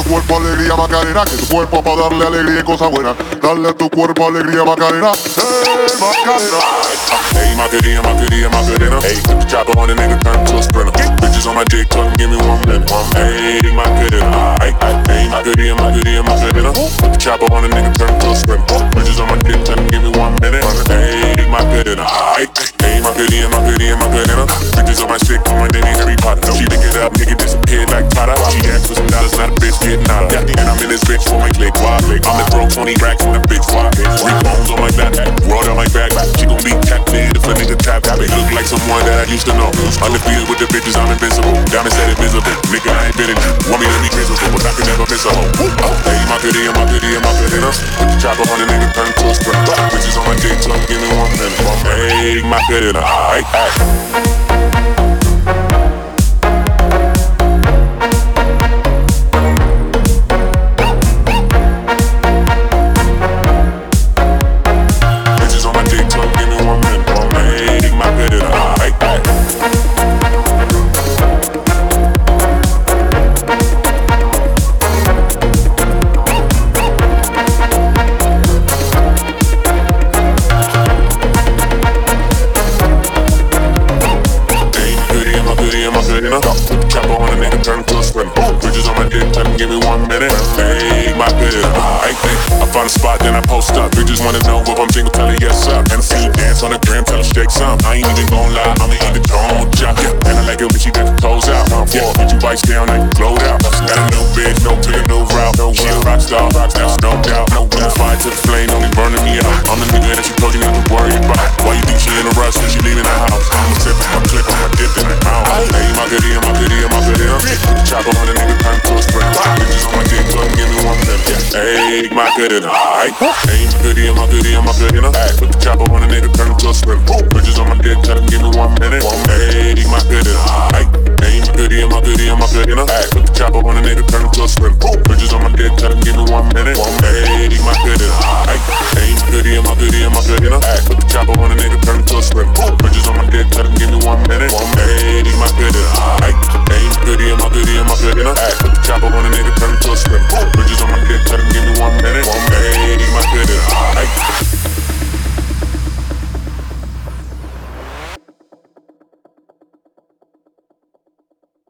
cuerpo alegría Macarena, que tu cuerpo para darle alegría y cosas buenas. Dale a tu cuerpo alegría Macarena, Macarena. Hey, Macarena, Macarena, Macarena. Hey, put the chopper on the nigga, turn to a sprinter. Bitches on my dick, tell them give me 1 minute. Hey, Macarena. Hey, Macarena, Macarena, Macarena. Put the chopper on the nigga, turn to a sprinter. Bitches on my dick, tell them give me 1 minute. Hey, Macarena. Hey, Macarena, Macarena, Macarena. Bitches on my stick, on my Danny Harry Potter. She pick it up, nigga disappeared like Tata. She asked for some dollars, not a bitch getting out of. And I'm in this bitch for my click. I'ma throw 20 racks in the bitch. 3 bones on my back, rolled on my back. She gon' be tapped in if a nigga tap. It look like someone that I used to know. Undefeated with the bitches, I'm invincible. Diamond said invisible. Nigga, I ain't been in. Want me to be miserable, but I can never miss a hoe. Hey, Macarena, Macarena, Macarena. Put the chopper on the nigga, turn to a sprint. Bitches on my dick, so give me 1 minute. Hey, Macarena. Hey. Chopper on a nigga, turn to a sprint. Bitches on my dick, tell them give me 1 minute. Hey, Macarena. I find a spot, then I post up. Bitches wanna know if I'm single, tell her yes up. And I see you dance on the gram, tell her shake some. I ain't even gon' lie, I'ma even don't jump. And I like it when she got the toes out. Yeah, put you bites down, I can glowed out. Got a new bitch, no to the new route. She a rock star, that's no doubt. No fire to the flame, only burning me out. I'm the nigga that she told you not to worry about. Why you think she in a rush, cause she leaving the house? I'm a sip, I'm clip, I'm dip in the mouth. Hey, Macarena, Macarena, Macarena. Put the chopper on the nigga, turn to a sprint. Bitches on my dick, so give me 1 minute. Hey, Macarena. Hey, Macarena, Macarena, Macarena. Put the chopper on the nigga, turn to a sprint. Bitches on my dick, tell them give me 1 minute. Hey, Macarena. Hey, Macarena, Macarena, Macarena. Put the chopper on the nigga, turn to a sprint. Bitches on my dick, tell them give me 1 minute. Hey, Macarena. Hey, Macarena, Macarena, Macarena. Put the chopper on the nigga, turn to a sprint. Bitches on my dick, tell them give me 1 minute. Hey, Macarena. Hey, Macarena, Macarena, Macarena. Put the chopper on the nigga, turn to a sprint. Bitches on my